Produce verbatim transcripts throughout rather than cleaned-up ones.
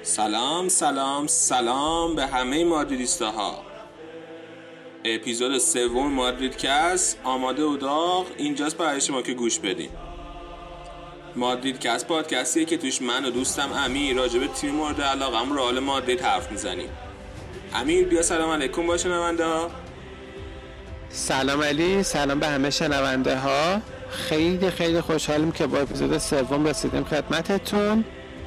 سلام سلام سلام به همه مادریدیستاها. اپیزود سوم مادریدکست آماده و داغ اینجاست برای شما که گوش بدین. مادریدکست پادکستیه که توش من و دوستم امیر راجع به تیم مورد علاقه‌ام رئال مادرید حرف میزنیم. امیر بیا سلام علیکم با شنونده ها. سلام علی، سلام به همه شنونده ها. خیلی خیلی خوشحالیم که با اپیزود سوم رسیدیم خدمتتون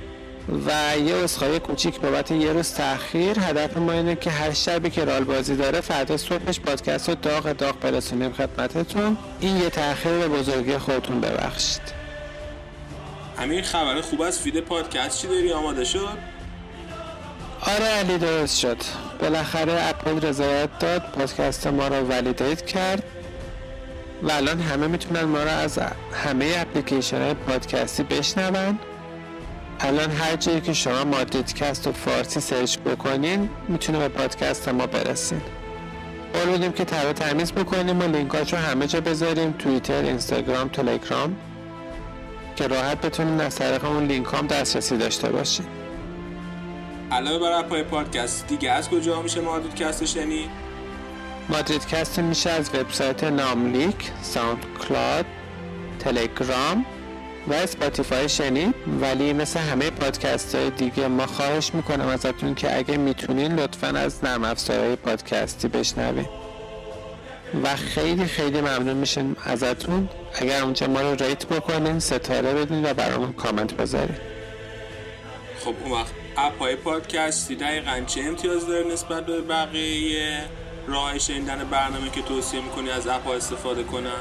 و یه عذرخواهی کوچیک بابت یه روز تأخیر. هدف ما اینه که هر شبی که رئال بازی داره فردا صبحش پادکست رو داغ داغ برسونیم خدمتتون. این یه تأخیر به بزرگی خودتون ببخشید. امیر خبر خوب از فید پادکست چی داری؟ آماده شد؟ آره علی، درست شد. بالاخره اپل رضایت داد، پادکست ما رو ولیدیت کرد و الان همه میتونن ما رو از همه اپلیکیشن های پادکستی بشنون. الان هر جایی که شما مادریدکست و فارسی سرچ بکنین میتونه به پادکست ما برسین. قول میدیم که تر و تمیز بکنیم و لینکاش رو همه جا بذاریم، توییتر، اینستاگرام، تلگرام، که راحت بتونین از طریق اون لینک هم دسترسی داشته باشین. علاوه بر اپهای پادکست دیگه از کجا میشه مادریدکست شنید؟ مادریدکست میشه از وبسایت ناملیک، ساوند کلاود، تلگرام و اسپاتیفای شنید. ولی مثل همه پادکست های دیگه ما خواهش میکنم ازتون که اگه میتونین لطفاً از نرم افزارهای پادکستی بشنوین و خیلی خیلی ممنون میشیم ازتون اگر اونجا ما رو ریت بکنین، ستاره بدین و برامون کامنت بذارین. خب اون وقت اپهای پادکستی دقیقاً چه امتیاز داره نسبت به بقیه راه شنیدن برنامه که توصیه میکنی از اپها استفاده کنن؟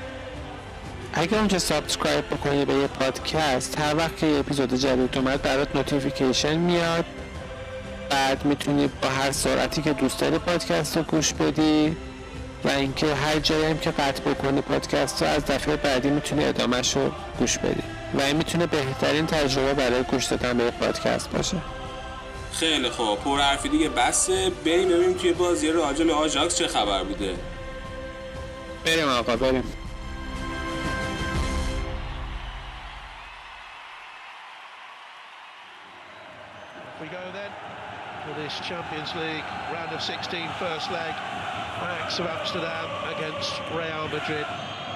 اگر اونجا سابسکرایب بکنی به یه پادکست، هر وقت که یه اپیزود جدید اومد برات نوتیفیکیشن میاد. بعد میتونی با هر سرعتی که دوست داری پادکست رو گوش بدی و اینکه هر جایی هم که قطع بکنی پادکست رو از دفعه بعدی میتونی ادامهش رو گوش بدی و این میتونه بهترین تجربه برای گوش دادن به پادکست باشه. خیلی خوب، پر حرفی دیگه بسه، بریم ببینیم توی بازی راجع به آژاکس چه خبر بوده. بریم آقا بریم. We go then for this Champions League round of sixteen first leg. Ajax of Amsterdam against Real Madrid.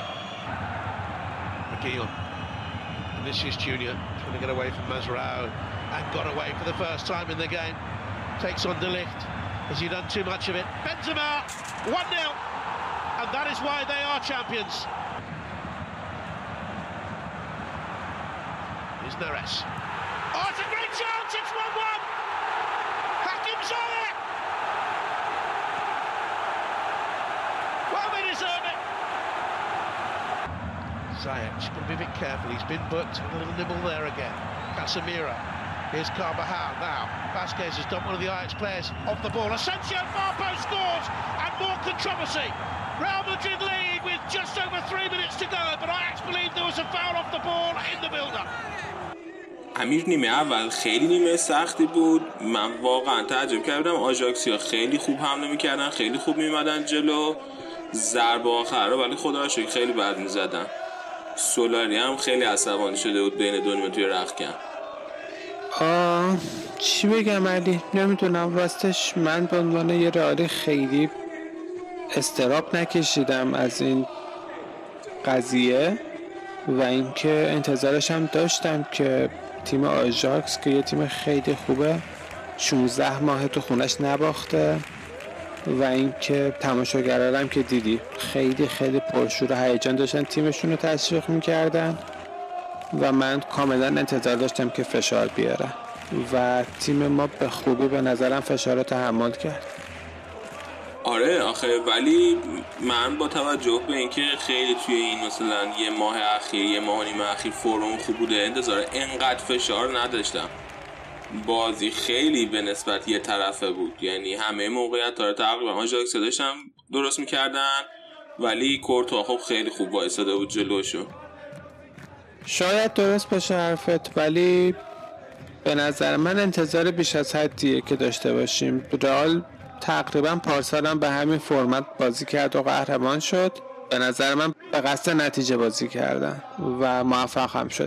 McGeon, Vinicius Junior trying to get away from Mascherano and got away for the first time in the game. Takes on De Ligt. Has he done too much of it? Benzema, one nil, and that is why they are champions. Here's Neres. Oh, it's a great chance, it's one one! Hakim Ziyech! Well, they deserve it! Ziyech, just got to be a bit careful, he's been booked, and a little nibble there again. Casemiro, here's Carvajal now. Vasquez has done one of the Ajax players off the ball. Asensio Farpo scores, and more controversy. Real Madrid lead with just over three minutes to go, but Ajax believe there was a foul off the ball in the build-up. امیر نیمه اول خیلی نیمه سختی بود. من واقعا تعجب کردم. آژاکسیا خیلی خوب حمله میکردن، خیلی خوب میمدن جلو، ضربه آخر رو ولی خدا رو شکر خیلی بد میزدن. سولاری هم خیلی عصبانی شده بود بین دو نیمه توی رختکن. آه چی بگم علی، نمیدونم راستش. من به عنوان یه رئالی خیلی استراب نکشیدم از این قضیه و اینکه انتظارش هم داشتم که تیم آژاکس که یه تیم خیلی خوبه شانزده ماه تو خونش نباخته و اینکه تماشاگران هم که دیدی خیلی خیلی پرشور و هیجان داشتن تیمشون رو تشویق میکردن و من کاملا انتظار داشتم که فشار بیاره و تیم ما به خوبی به نظرم فشار رو تحمل کرد. آره آخه ولی من با توجه به اینکه خیلی توی این مثلا یه ماه اخیر یه ماه نیمه اخیر فرم خوب بوده انتظار اینقدر فشار نداشتم. بازی خیلی به نسبت یه طرفه بود، یعنی همه موقعیت رو تقریبا آژاکس داشتن درست میکردن ولی کورتوا خب خیلی خوب وایساده بود جلوشون. شاید درست باشه حرفت ولی به نظر من انتظار بیش از حدیه که داشته باشیم. رئال تقریبا پارسال هم به همین فرمت بازی کرد و قهرمان شد. به نظر من به قصد نتیجه بازی کردن و موفق هم شدن.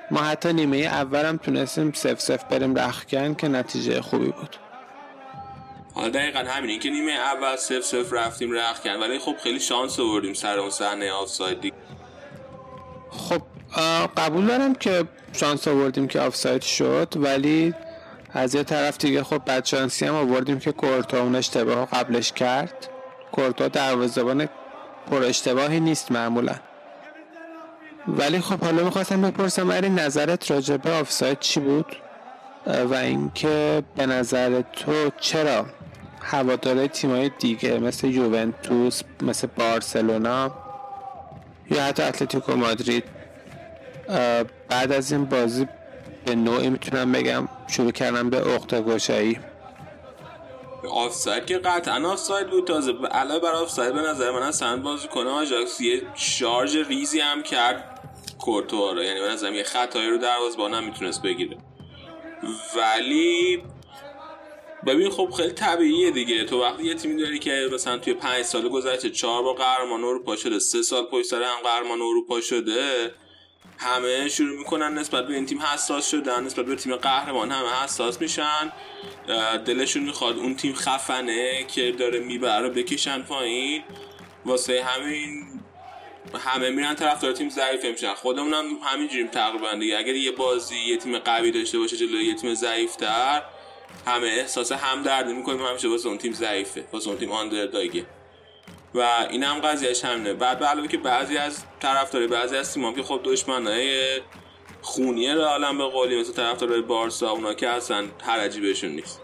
ما حتی نیمه اولم تونستیم سف سف بریم رختکن که نتیجه خوبی بود. حالا دقیقا همین این که نیمه اول سف سف رفتیم رختکن، ولی خب خیلی شانس آوردیم سر اون صحنه آفساید دیگه. خب قبول دارم که شانس آوردیم که آفساید شد، ولی از یه طرف دیگه خب بدشانسی هم آوردیم که کورتوا اون اشتباه قبلش کرد. کورتوا دروازه‌بان پر اشتباهی نیست معمولا. ولی خب حالا میخواستم بپرسم علی نظرت راجع به آفساید چی بود و اینکه به نظر تو چرا هواداره تیمای دیگه مثل یوونتوس، مثل بارسلونا یا حتی اتلتیکو مادرید بعد از این بازی به نوعی میتونم بگم شروع کردم به عقده گشایی؟ آفساید که قطعا آفساید بود. تازه علاوه بر آفساید به نظر من اصلا بازیکن آژاکس یه شارژ ریزی هم کرد کورتوا رو، یعنی به نظر من یه خطایی رو دروازه‌بان هم میتونست بگیره. ولی ببین خب خیلی طبیعیه دیگه، تو وقتی یه تیمی داری که مثلا توی پنج سال گذشته چهار بار قهرمان اروپا شده، سه سال پشت سر هم قهرمان اروپا شده، همه شروع میکنن نسبت به این تیم حساس شدن، نسبت به تیم قهرمان همه حساس میشن، دلشون میخواد اون تیم خفنه که داره میبره بکشن پایین. واسه همین همه میرن طرفدار تیم ضعیف میشن. خودمون هم همینجوریم تقریبا دیگه. اگر یه بازی یه تیم قوی داشته باشه جلوی یه تیم ضعیف‌تر، همه احساس همدردی میکنیم همیشه واسه اون تیم ضعیفه، واسه اون تیم آندرداگه. و این هم قضیهش همینه. بعد به علاوه که بعضی از طرفدارای بعضی از تیم‌ها که خب دشمنای خونیه رئالن به قولی، مثل طرفدارای بارسا، اونا که اصلا حرجی بهشون نیست.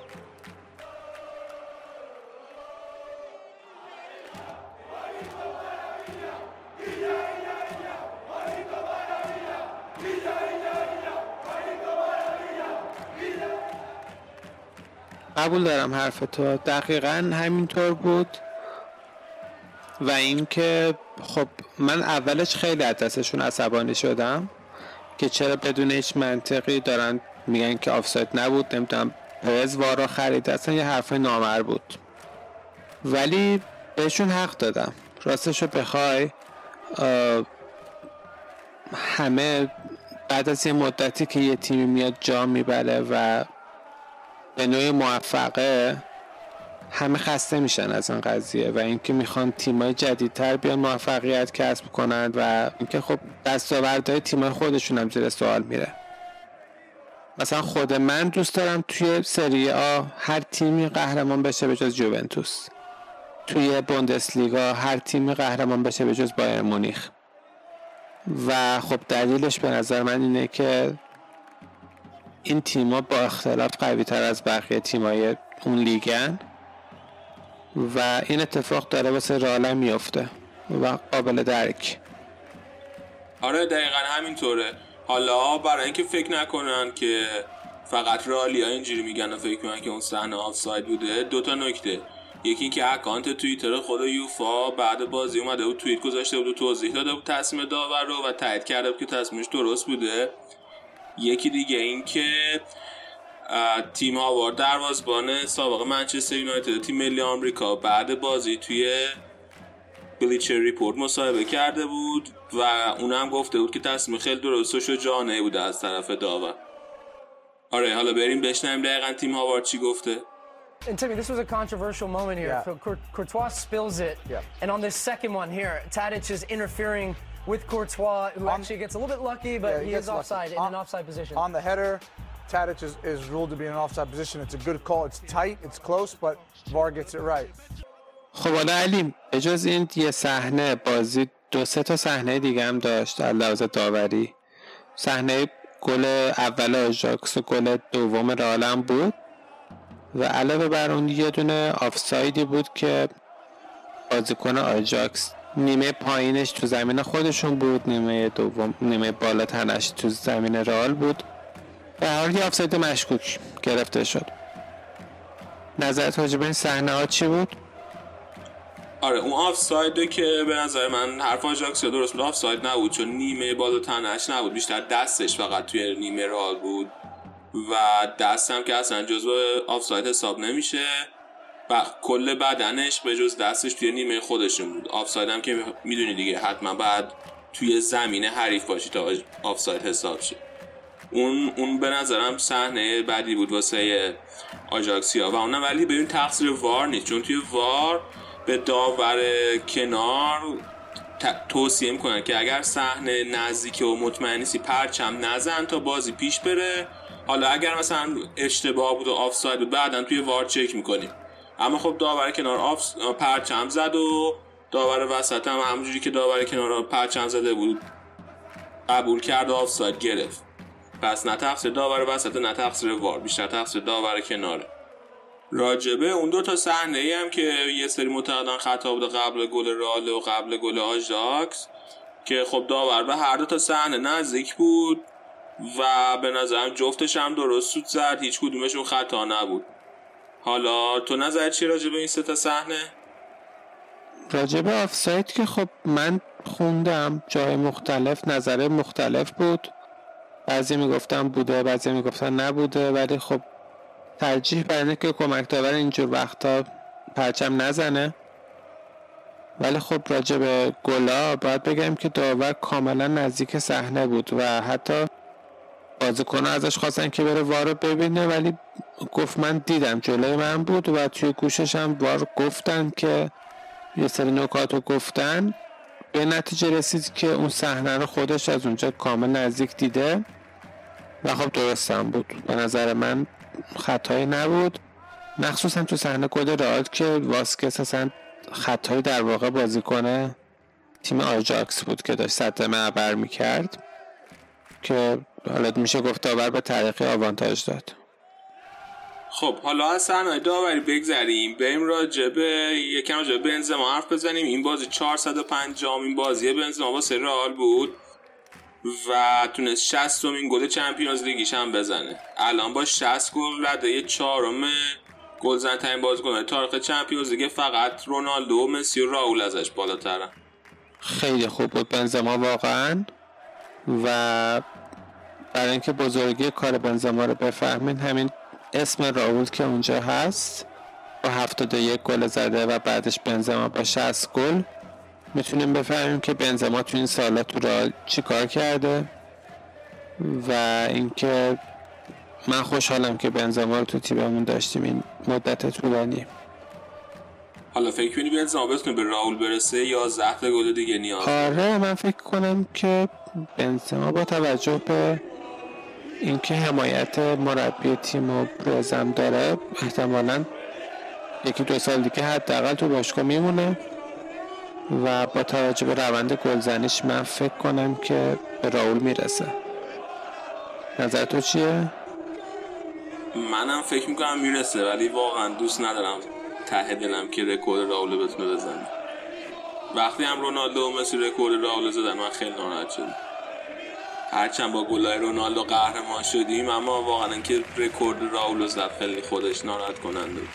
قبول دارم حرف تو، دقیقاً همینطور بود. و اینکه خب من اولش خیلی از دستشون عصبانی شدم که چرا بدون هیچ منطقی دارن میگن که آفساید نبود، نمیدونم پرز وارا خرید، اصلا یه حرف نامر بود. ولی بهشون حق دادم. راستشو بخوای همه بعد از یه مدتی که یه تیمی میاد جام میبره و به نوعی موفقه، همه خسته میشن از این قضیه و اینکه میخوان تیمای جدیدتر بیان موفقیت کسب کنند و اینکه خب دستاوردهای تیمای خودشون هم زیر سوال میره. مثلا خود من دوست دارم توی سری آ هر تیمی قهرمان بشه به جز یوونتوس، توی بوندسلیگا هر تیمی قهرمان بشه به جز بایر مونیخ. و خب دلیلش به نظر من اینه که این تیم‌ها با اختلاف قوی تر از بقیه تیم‌های اون لیگن و این اتفاق داره واسه رئال میفته و قابل درک. آره دقیقاً همینطوره. حالا برای اینکه فکر نکنن که فقط رئالیا اینجوری میگن و فکر میکنن که اون صحنه آفساید بوده، دو تا نکته. یکی اینکه اکانت توییتر خود یوفا بعد بازی اومده بود توییت گذاشته بود و توضیح داده بود تصمیم داور رو و تایید کرده بود که تصمیمش درست بوده. یکی دیگه این که تیم هاوارد دروازه‌بان سابق منچستر یونایتد تیم ملی آمریکا بعد بازی توی بلیچر ریپورت مصاحبه کرده بود و اونم گفته بود که تصمیم خیلی درست و شجاعانه بوده از طرف داور. آره حالا بریم بشنویم دقیقاً تیم هاوارد چی گفته. And Timmy, this was a controversial moment here. Yeah. So Courtois spills it, yeah. and on this second one here, Tadic is interfering with Courtois, who on, actually gets a little bit lucky, but yeah, he, he is offside lucky. in on, an offside position. On the header, Tadic is, is ruled to be in an offside position. It's a good call. It's tight, it's close, but V A R gets it right. خب حالا علی به جز این یه صحنه بازی دو سه تا صحنه دیگه هم داشت از لحاظ داوری. صحنه گل اول آژاکس و گل دوم رئال هم بود و علاوه بر اون یه دونه آفسایدی بود که بازیکن آژاکس نیمه پایینش تو زمین خودشون بود، نیمه دوم نیمه بالا تنش تو زمین رئال بود. به هر حال یه آفساید مشکوک گرفته شد. نظرت راجع به این صحنه ها چی بود؟ آره اون آفساید که به نظر من حرف آژاکس درست بود، آفساید نبود چون نیمه بالا تنش نبود، بیشتر دستش فقط توی نیمه رئال بود و دست هم که اصلا جزو آفساید حساب نمیشه و کل بدنش به جز دستش توی نیمه خودشون بود. آفساید هم که میدونی دیگه حتما بعد توی زمین حریف باشی تا آفساید حساب شه. اون اون به نظرم صحنه بعدی بود واسه آژاکسیا و اونم ولی ببین تقصیر وار نیست، چون توی وار به داور کنار توصیه میکنن که اگر صحنه نزدیکه و مطمئن نیستی پرچم نزن تا بازی پیش بره. حالا اگر مثلا اشتباه بود و آفساید بود بعدن توی وار چک میکنیم، اما خب داور کنار آف پرچم زد و داور وسط هم همونجوری که داور کنار پرچم زده بود قبول کرد و آفساید گرفت. پس نه تقصیر داور وسط نه تقصیر وار، بیشتر تقصیر داور کناره. راجبه اون دو تا صحنه ای هم که یه سری معتقدن خطا بود قبل گل رئال و قبل گل آژاکس که خب داور به هر دو تا صحنه نزدیک بود و به نظرم جفتش هم درست سود زد، هیچ کدومشون خطا نبود. حالا تو نظر چی راجبه این سه تا صحنه؟ راجبه آفساید که خب من خوندم جای مختلف نظر مختلف بود، بعضی میگفتن بوده بعضی میگفتن نبوده، ولی خب ترجیح بر اینه که کمک داور اینجور وقتا پرچم نزنه. ولی خب راجع به گلا باید بگم که داور کاملا نزدیک صحنه بود و حتی بازیکن‌ها ازش خواستن که بره وار رو ببینه، ولی گفت من دیدم جلوی من بود و توی گوشش هم وار گفتن که یه سری نکات رو گفتن، به نتیجه رسید که اون صحنه رو خودش از اونجا کامل نزدیک دیده و خب درستم بود. به نظر من خطایی نبود، مخصوصا تو صحنه گل رئال که واسکس اصلا خطایی در واقع بازیکن تیم آژاکس بود که داشت سد معبر میکرد که حالا میشه گفت داور به طریقی آوانتاژ داد. خب حالا از صحنه داوری بگذریم، بریم راجبه یکم راجبه بنزما حرف بزنیم. این بازی چهارصد و پنجمین بازی بنزما واسه رئال بود و تونست شصتمین گل چمپیونز لیگیش هم بزنه. الان با شصت گل رده چهارم گلزن‌ترین بازیکن تاریخ چمپیونز لیگ، فقط رونالدو و مسی و راول ازش بالاترن. خیلی خوب بود بنزما واقعا، و برای اینکه بزرگی کار بنزما رو بفهمین همین اسم راول که اونجا هست با هفتاد و یک گل زده و بعدش بنزما با شصت گل میتونیم بفهمیم که بنزما تو این سالا تو رئال چی کار کرده و اینکه من خوشحالم که بنزما رو تو تیممون داشتیم این مدت طولانی. حالا فکر کنی بنزما بتونه به راول برسه یا یازده تا گل دیگه نیاز داره؟ آره من فکر کنم که بنزما با توجه به اینکه حمایت مربی تیم و پرزم داره احتمالاً یکی دو سال دیگه حداقل تو باشگاه میمونه و با توجه به روند گلزنیش من فکر کنم که به راول میرسه. نظر تو چیه؟ منم فکر میکنم میرسه، ولی واقعا دوست ندارم ته دلم که رکورد راول بتونه بزنه. وقتی هم رونالدو و مسی رکورد راول زدن من خیلی ناراحت شدم، هرچند با گلای رونالدو قهرمان شدیم اما واقعا اینکه رکورد راول زد خیلی خودش ناراحت کننده بود.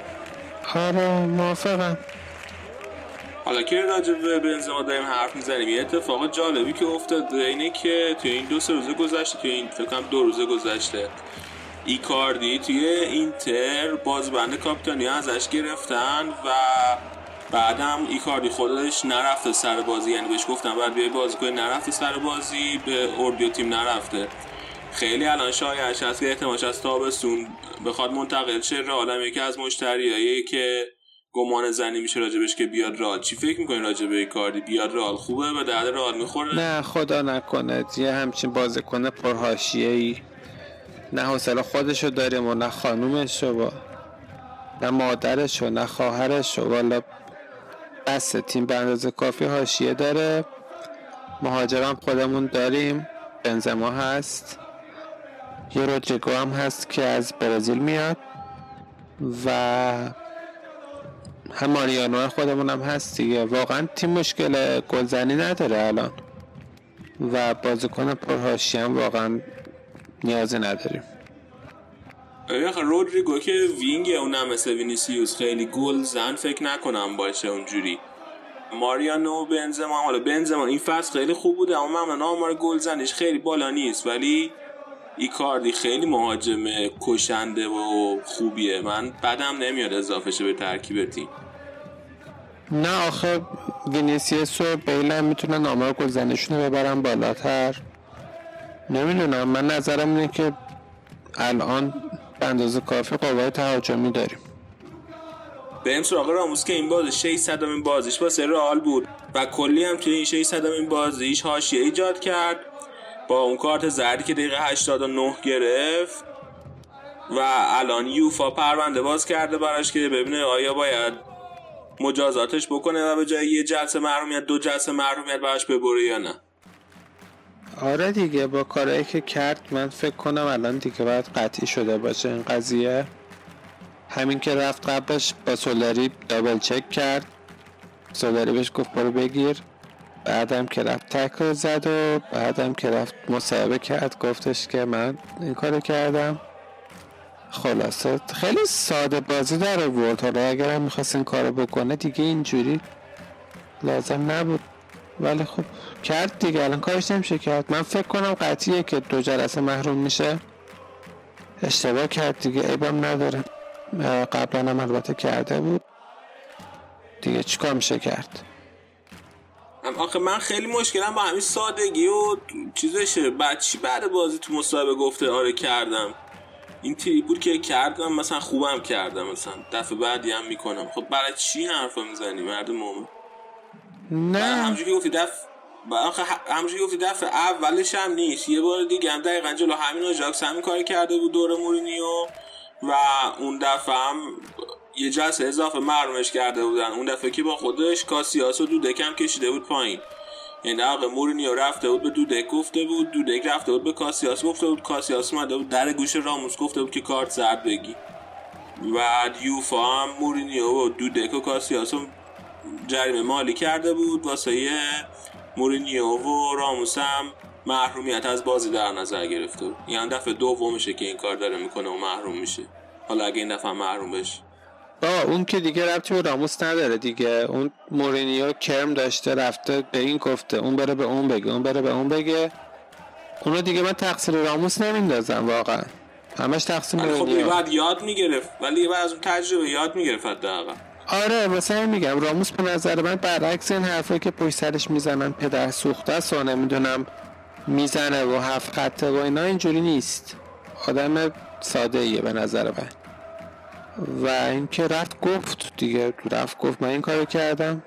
آره موافقم. حالا که راجع به بنزما داریم حرف میزنیم، یه اتفاق جالبی که افتاد اینه که توی این دو سه روز گذشته، توی این فکر کنم دو روز گذشته، ایکاردی توی اینتر بازبند کاپیتانی ازش گرفتن و بعدم ایکاردی خودش نرفته سر بازی، یعنی بهش گفتن بعد بیای بازی کنی، نرفته سر بازی، به اردیو تیم نرفته. خیلی الان شایعش هست که احتمالش از تابستون بخواد منتقل شه رئال، یکی از مشتریایی که گمان زنی میشه راجبش که بیاد رئال. چی فکر میکنی راجب ایکاردی؟ بیاد رئال خوبه؟ به درد رئال میخوره؟ نه خدا نکنه یه همچین بازیکن پرحاشیه‌ای نه حوصله خودشو داریم و نه خانومشو و نه مادرشو نه خواهرشو، والا بس تیم به اندازه کافی حاشیه داره. مهاجرم خودمون داریم، بنزما هست، یه رودریگو هم هست که از برزیل میاد و هم ماریانو خودمون هم هست دیگه. واقعا تیم مشکل گلزنی نداره الان و بازیکن پرحاشیه هم واقعا نیازی نداریم. آخه رودریگو که وینگ اونم مثل وینیسیوس خیلی گل زن فکر نکنم باشه اونجوری. ماریانو و بنزما، حالا بنزما این فصل خیلی خوب بوده اما معمولا آمار گل زنش خیلی بالا نیست، ولی ایکاردی خیلی مهاجم کشنده و خوبیه، من بدم نمیاد اضافه شه به ترکیب تیم. نه آخه وینیسیوس و بیل هم میتونن آمار گلزنیشون رو ببرن بالاتر نمیدونم، من نظرم اینه که الان به اندازه کافی قوای تهاجمی داریم. بریم سراغ راموس که این بازی ششصد امین بازیش با رئال بود و کلی هم توی این ششصد امین بازیش حاشیه ایجاد کرد با اون کارت زردی که دقیقه هشتاد و نه گرفت و الان یوفا پرونده باز کرده براش که ببینه آیا باید مجازاتش بکنه و به جای یه جلسه محرومیت دو جلسه محرومیت براش ببره یا نه. آره دیگه، با کارهایی که کرد من فکر کنم الان دیگه باید قطعی شده باشه این قضیه. همین که رفت قبلش با سولاری دابل چک کرد، سولاری بهش گفت برو بگیر، بعدم که رفت تکل زد و بعدم که رفت مصاحبه کرد گفتش که من این کارو کردم. خلاصه خیلی ساده بازی داره ورد. حالا اگر هم میخواست این کارو بکنه دیگه اینجوری لازم نبود، ولی خب کرد دیگه، الان کارش نمیشه کرد. من فکر کنم قطعیه که دو جلسه محروم میشه. اشتباه کرد دیگه، عیبم نداره، قبلا هم البته کرده بود دیگه، چیکار میشه کرد. آخه من خیلی مشکلم با همین سادگی و چیزشه. بعد چی بعد بازی تو مصاحبه گفته آره کردم، این تریپ بود که کردم، مثلا خوبم کردم، مثلا دفعه بعدی هم میکنم. خب برای چی حرفا میزنی مرد مومن؟ نه همونجوری گفتی دفعه آخه همونجوری گفتی دفعه اولش هم نیست، یه بار دیگه هم دقیقاً جلو همین آژاکس همین کار کرده بود دور مورینیو و اون دفعه هم یه جلسه اضافه محرومش کرده بودن. اون دفعه که با خودش کاسیاس و دودک هم کشیده بود پایین، یعنی آقا مورینیو رفته بود به دودک گفته بود، دودک رفته بود به کاسیاس گفته بود، کاسیاس اومده بود در گوش راموس گفته بود که کارت زرد بگی. و یوفا هم مورینیو و دودک و کاسیاس هم جریمه مالی کرده بود واسه مورینیو و راموس هم محرومیت از بازی در نظر گرفته بود. یعنی دفعه دومشه که این کار داره میکنه و محروم میشه. حالا اگه این دفعه محروم بشه با اون که دیگه ربطی به راموس نداره دیگه. اون مورینیو کرم داشته رفته به این گفته، اون بره به اون بگه، اون بره به اون بگه. اونو دیگه من تقصیر راموس نمیندازم واقعا، همش تقصیر مورینیو. خب بعد یاد میگرفت، ولی بعد از اون تجربه یاد میگرفت حداقل. آره مثلا میگم راموس به نظر من برعکس این حرفایی که پشت سرش میزنن پدر سوخته است و نمیدونم میزنه و هفت خطه و اینا، اینجوری نیست. آدم ساده ایه به نظر من. و اینکه رفت گفت دیگه، رفت گفت من این کارو کردم.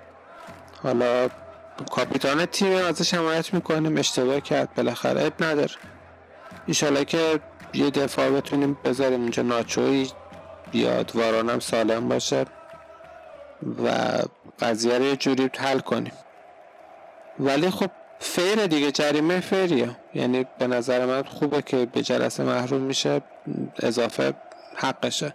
حالا کاپیتان تیم ازش حمایت میکنیم، اشتباه کرد بالاخره، عیب نداره. ایشالا که یه دفاع بتونیم بذاریم اونجا، ناچوی بیاد، واران هم سالم باشه و قضیه رو یه جوری حل کنیم. ولی خب فیره دیگه، جریمه فیریه، یعنی به نظر من خوبه که به جلسه محروم میشه، اضافه حقشه،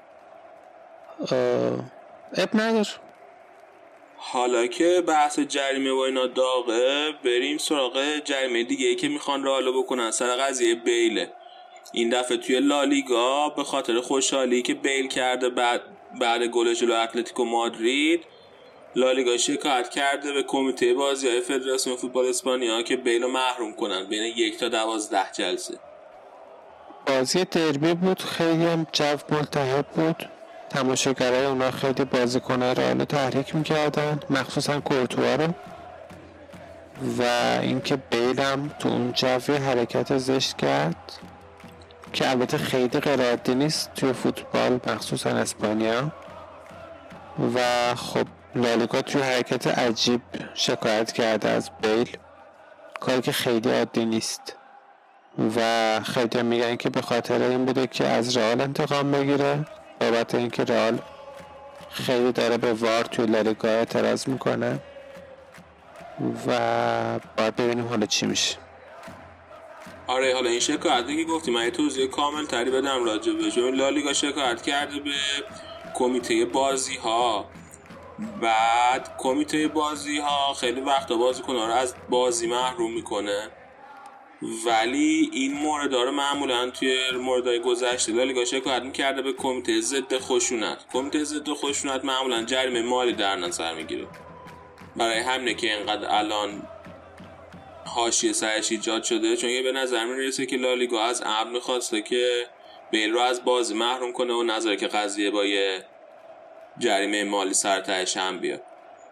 اب نداره. حالا که بحث جریمه و اینا داغه، بریم سراغ جریمه دیگه ای که میخوان رئال بکنن سر قضیه بیله. این دفعه توی لالیگا به خاطر خوشحالی که بیل کرده بعد بعد گل جلو اتلتیکو مادرید، لالیگا شکایت کرده به کمیته بازی‌های فدراسیون فوتبال اسپانیا که بیل رو محروم کنن بین یک تا دوازده جلسه. بازی دربی بود، خیلی هم جو ملتهب بود، تماشاگرای اونا خیلی بازیکن‌های رئال رو تحریک می‌کردن، مخصوصا کورتوا رو. و اینکه بیل هم تو اون جو حرکت زشت کرد که البته خیلی غیر عادی نیست توی فوتبال مخصوصا اسپانیا. و خب لالیگا توی حرکت عجیب شکایت کرده از بیل، کاری که خیلی عادی نیست. و خیلی میگن که به خاطر این بوده که از رئال انتقام بگیره، بابت اینکه رئال خیلی داره به وار توی لالیگا اعتراض میکنه. و باید ببینیم حالا چی میشه. آره حالا این شکایتی که گفتی من یه توضیح کامل تری بدم راجع بهش. لالیگا شکایت کرده به کمیته بازی ها، بعد کمیته بازی ها خیلی وقتا بازیکن‌ها رو از بازی محروم میکنه، ولی این مورد رو معمولا توی موردهای گذشته لالیگا شکایت میکرده به کمیته ضد خشونت. کمیته ضد خشونت معمولا جریمه مالی در نظر میگیره. برای همینه که اینقدر الان حاشیه سرش ایجاد شده، چون یه به نظر میرسه که لالیگا از عمد میخواسته که بیل رو از بازی محروم کنه و نظره که قضیه با یه جریمه مالی سر تهش هم بیاد.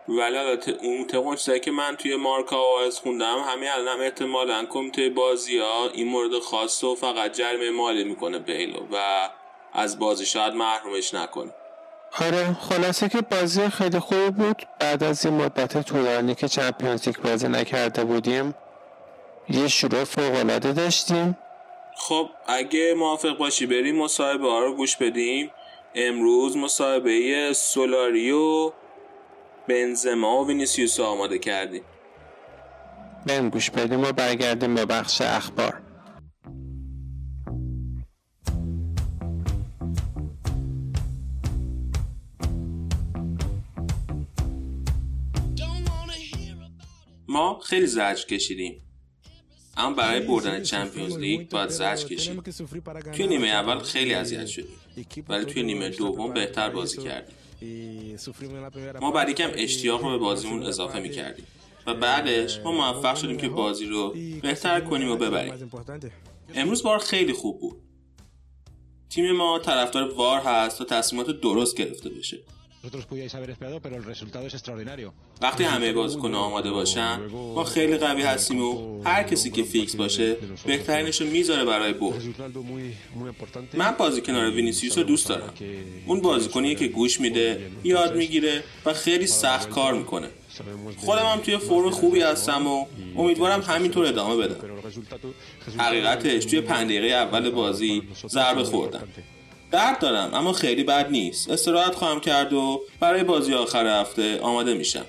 ولی البته اون طبق چیزایی که من توی مارکا آواز خوندم همین الانم احتمالاً کمیته بازی‌ها این مورد خاص و فقط جریمه مالی میکنه بیلو و از بازی شاید محرومش نکنه. آره خلاصه که بازی خیلی خوب بود. بعد از این مدت طولانی که چمپیونز لیگ بازی نکرده بودیم یه شروع فوق‌العاده داشتیم. خب اگه موافق باشی بریم مصاحبه ها رو گوش بدیم. امروز مصاحبه سولاری و بنزما و وینیسیوس آماده کردیم. بریم گوش بدیم و برگردیم به بخش اخبار. ما خیلی زجر کشیدیم، اما برای بردن چمپیونز لیگ باید زجر کشیم. توی نیمه اول خیلی اذیت شدیم ولی توی نیمه دوم بهتر بازی کردیم. ما بعد یکم اشتیاق رو به بازیمون اضافه می‌کردیم و بعدش ما موفق شدیم که بازی رو بهتر کنیم و ببریم. امروز وار خیلی خوب بود. تیم ما طرفدار وار هست تا تصمیمات درست گرفته بشه. وقتی همه بازیکن‌ها آماده باشن ما خیلی قوی هستیم و هر کسی که فیکس باشه بهترینش رو میذاره برای برد. من بازی کنار وینیسیوس رو دوست دارم. اون بازیکنیه که گوش میده، یاد میگیره و خیلی سخت کار میکنه. خودم هم توی فرم خوبی هستم و امیدوارم همینطور ادامه بدم. حقیقتش توی پنج دقیقه اول بازی ضربه خوردم. درد دارم اما خیلی بد نیست. استراحت خواهم کرد و برای بازی آخر هفته آماده میشم.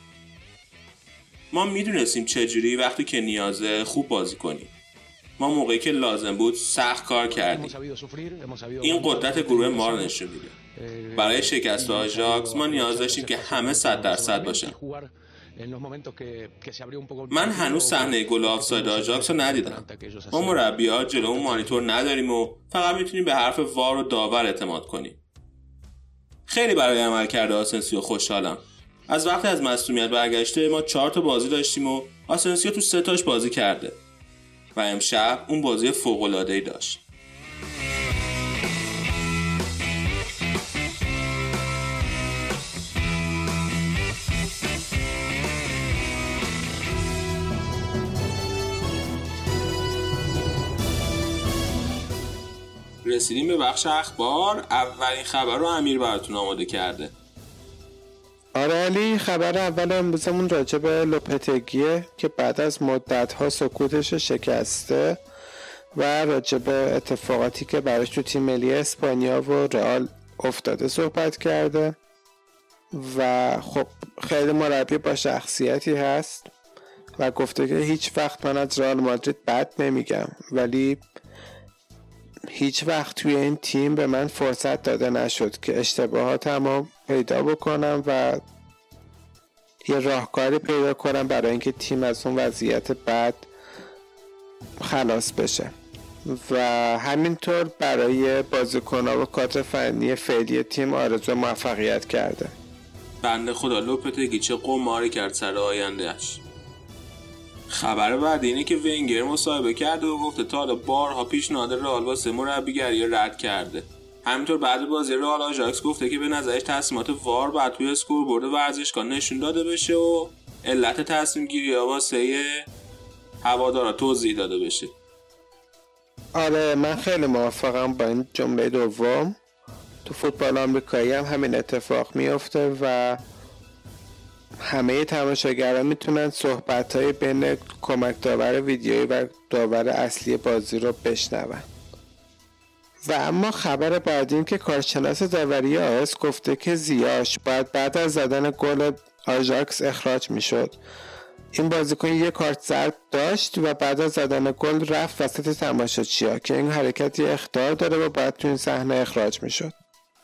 ما میدونستیم چجوری وقتی که نیازه خوب بازی کنیم. ما موقعی که لازم بود سخت کار کردیم. این قدرت گروه ما رو نشون میده. برای شکست آژاکس ما نیاز داشتیم که همه صد درصد باشن. من هنوز صحنه گل آفساید آژاکس رو ندیدم. ما مربی‌ها جلومون مانیتور نداریم و فقط میتونیم به حرف وار و داور اعتماد کنیم. خیلی برای عملکرد آسنسیو خوشحالم. از وقتی از مصدومیت برگشته ما چهار تا بازی داشتیم و آسنسیو تو سه تاش بازی کرده و امشب اون بازی فوق‌العاده‌ای داشت. رسیدیم به بخش اخبار. اولین خبر رو امیر براتون آماده کرده. آره علی، خبر اول امروزمون راجع به لوپتگیه که بعد از مدت‌ها سکوتش شکسته و راجع به اتفاقاتی که براش تو تیم ملی اسپانیا و رئال افتاده صحبت کرده و خب خیلی مربی با شخصیتی هست و گفته که هیچ وقت من از رئال مادرید بد نمیگم ولی هیچ وقت توی این تیم به من فرصت داده نشد که اشتباهاتمو پیدا بکنم و یه راهکاری پیدا کنم برای اینکه تیم از اون وضعیت بد خلاص بشه و همینطور برای بازیکن‌ها و کادر فنی فعلی تیم آرزو موفقیت کرده. بنده خدا لوپتگی چه قماری کرد سر آیندهش. خبر بعد اینه که ونگر مصاحبه کرده و گفته تا حالا بارها پیشنهاد رئال واسه مربیگری رد کرده. همینطور بعد بازی رئال آژاکس گفته که به نظرش تصمیمات وار بعد توی اسکوربورد ورزشگاه نشون داده بشه و علت تصمیم گیری ها واسه هوادارا توضیح داده بشه. آره من خیلی موافقم با این جمله دوم. تو فوتبال آمریکایی هم همین اتفاق میفته و همه تماشاگران میتونن صحبت‌های بین کمک داور ویدیویی و داور اصلی بازی رو بشنون. و اما خبر بعدی این که کارشناس داوری آس گفته که زیاش باید بعد از زدن گل آژاکس اخراج میشد. این بازیکن یک کارت زرد داشت و بعد از زدن گل رفت وسط تماشاچی‌ها که این حرکت یه اخطار داره و بعد تو این صحنه اخراج میشد.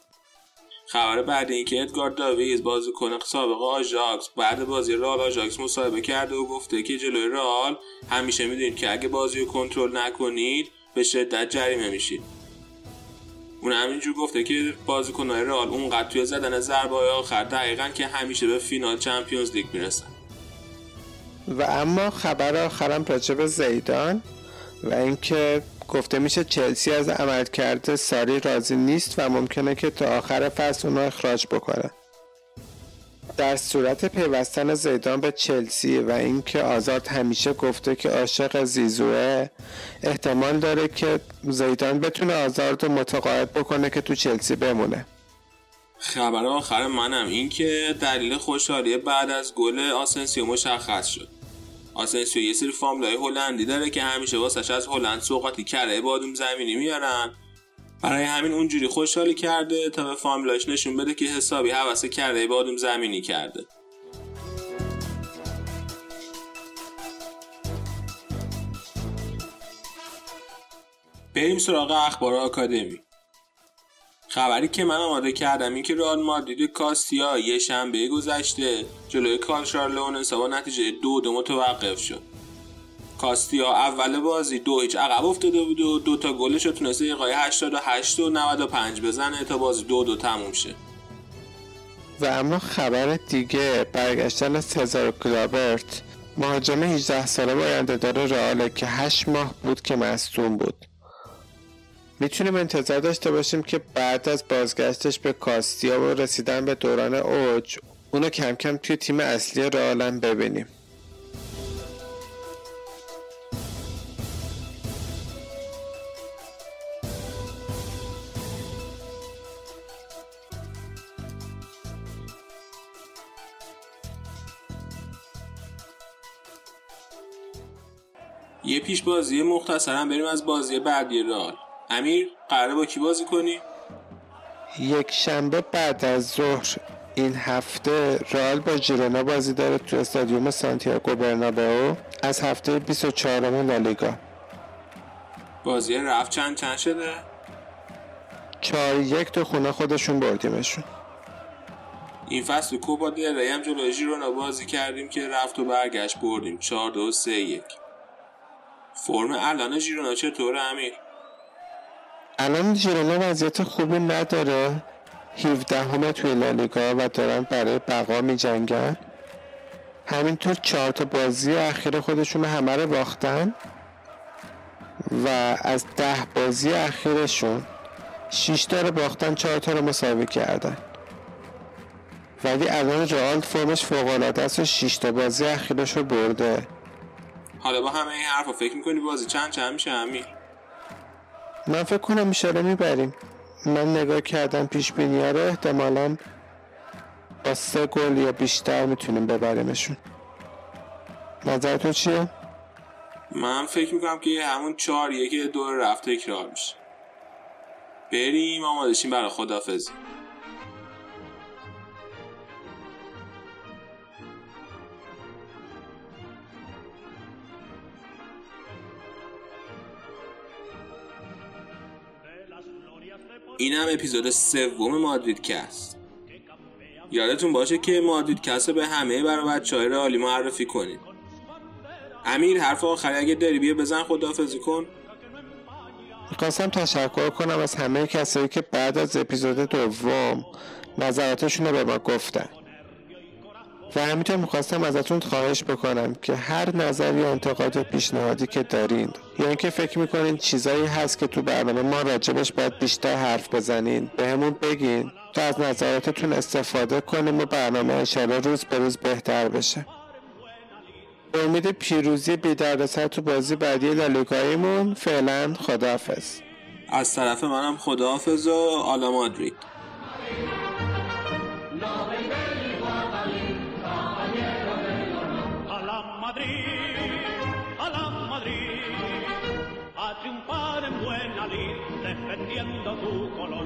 خبر بعد این که ادگار داویز بازیکن سابق آژاکس بعد بازی رئال آژاکس مصاحبه کرده و گفته که جلوی رئال همیشه میدونید که اگه بازی رو کنترل نکنید به شدت جریمه میشید. اون همینجور گفته که بازیکن‌های رئال اونقدر توی زدن ضربه‌های آخر دقیقاً که همیشه به فینال چمپیونز لیگ میرسن. و اما خبر آخرم راجع به زیدان و اینکه گفته میشه چلسی از عملکرد ساری راضی نیست و ممکنه که تا آخر فصل اونو اخراج بکنه. در صورت پیوستن زیدان به چلسی و اینکه آزارد همیشه گفته که عاشق زیزوه، احتمال داره که زیدان بتونه آزارد رو متقاعد بکنه که تو چلسی بمونه. خبر آخر منم این که دلیل خوشحالی بعد از گل آسنسیو مشخص شد. آسنسیو یه سری فامیلای هلندی داره که همیشه واسش از هلند سوغاتی کره بادوم زمینی میارن. برای همین اونجوری خوشحالی کرده تا به فامیلاش نشون بده که حسابی هوس کره بادوم زمینی کرده. بریم سراغ اخبار آکادمی. خبری که من آماده کردم این که رئال مادرید کاستیا یه شنبه گذشته جلوی کالچارلونس با نتیجه دو دو متوقف شد. کاستیا اول بازی دو هیچ عقب افتاده بود و دو تا گلش رو تونسته دقیقه هشتاد و هشت و نود و پنج بزنه تا بازی دو دو تموم شه. و اما خبر دیگه برگشتن سزار کلابرت، مهاجم هجده ساله آینده دار رئال که هشت ماه بود که مصدوم بود. میتونیم انتظار داشته باشیم که بعد از بازگشتش به کاستیا و رسیدن به دوران اوج اونو کم کم توی تیم اصلی رئال هم ببینیم. یه پیش بازی مختصرا بریم از بازی بعدی رئال. امیر قراره با کی بازی کنی؟ یک شنبه بعد از ظهر این هفته رئال با ژیرونا بازی داره تو استادیوم سانتیاگو برنابئو از هفته بیست و چهارم لالیگا. بازی رفت چند چند شده؟ چهار یک تو خونه خودشون بردیمشون. این فصل کوپا دل ری هم جلوی ژیرونا بازی کردیم که رفت و برگشت بردیم چهار دو سه یک. فرم الان ژیرونا چطوره امیر؟ الان ژیرونا وضعیت خوبی نداره، هفدهم توی لالیگا و دارن برای بقا می جنگن. همینطور چهار تا بازی اخیر خودشون همه رو باختن و از ده بازی اخیرشون شش تا رو باختن، چهار تا رو مساوی کردن. ولی الان رئال فرمش فوق‌العاده است و شش تا بازی اخیرش رو برده. حالا با همه این حرفا فکر میکنی بازی چند چند میشه امیر؟ من فکر کنم میشه میبریم. من نگاه کردم پیش بینی‌ها رو، احتمالاً با سه گل یا بیشتر میتونیم ببریمشون. نظرتون چیه؟ من فکر میکنم که همون چهار یکی دور رفت تکرار میشه. بریم آماده شیم برای خداحافظی. این هم اپیزود سوم مادرید کست. یادتون باشه که مادرید کست رو به همه برای بچه‌های رئالی معرفی کنید. امیر حرف آخری اگه داری بیا بزن خداحافظی کن. میخواستم تشکر کنم از همه کسایی که بعد از اپیزود دوم نظراتشون رو به ما گفتن و همینطور میخواستم ازتون خواهش بکنم که هر نظر یا انتقاد و پیشنهادی که دارین یا اینکه فکر میکنین چیزایی هست که تو برنامه ما راجبش باید بیشتر حرف بزنین به همون بگین تا از نظراتتون استفاده کنیم و برنامه انشالله روز به روز بهتر بشه. به امید پیروزی بی دردسر تو بازی بعدی لالیگاییمون فعلا خداحافظ. از طرف منم خداحافظ و آلا مادرید. A triunfar en buena lid, defendiendo tu color.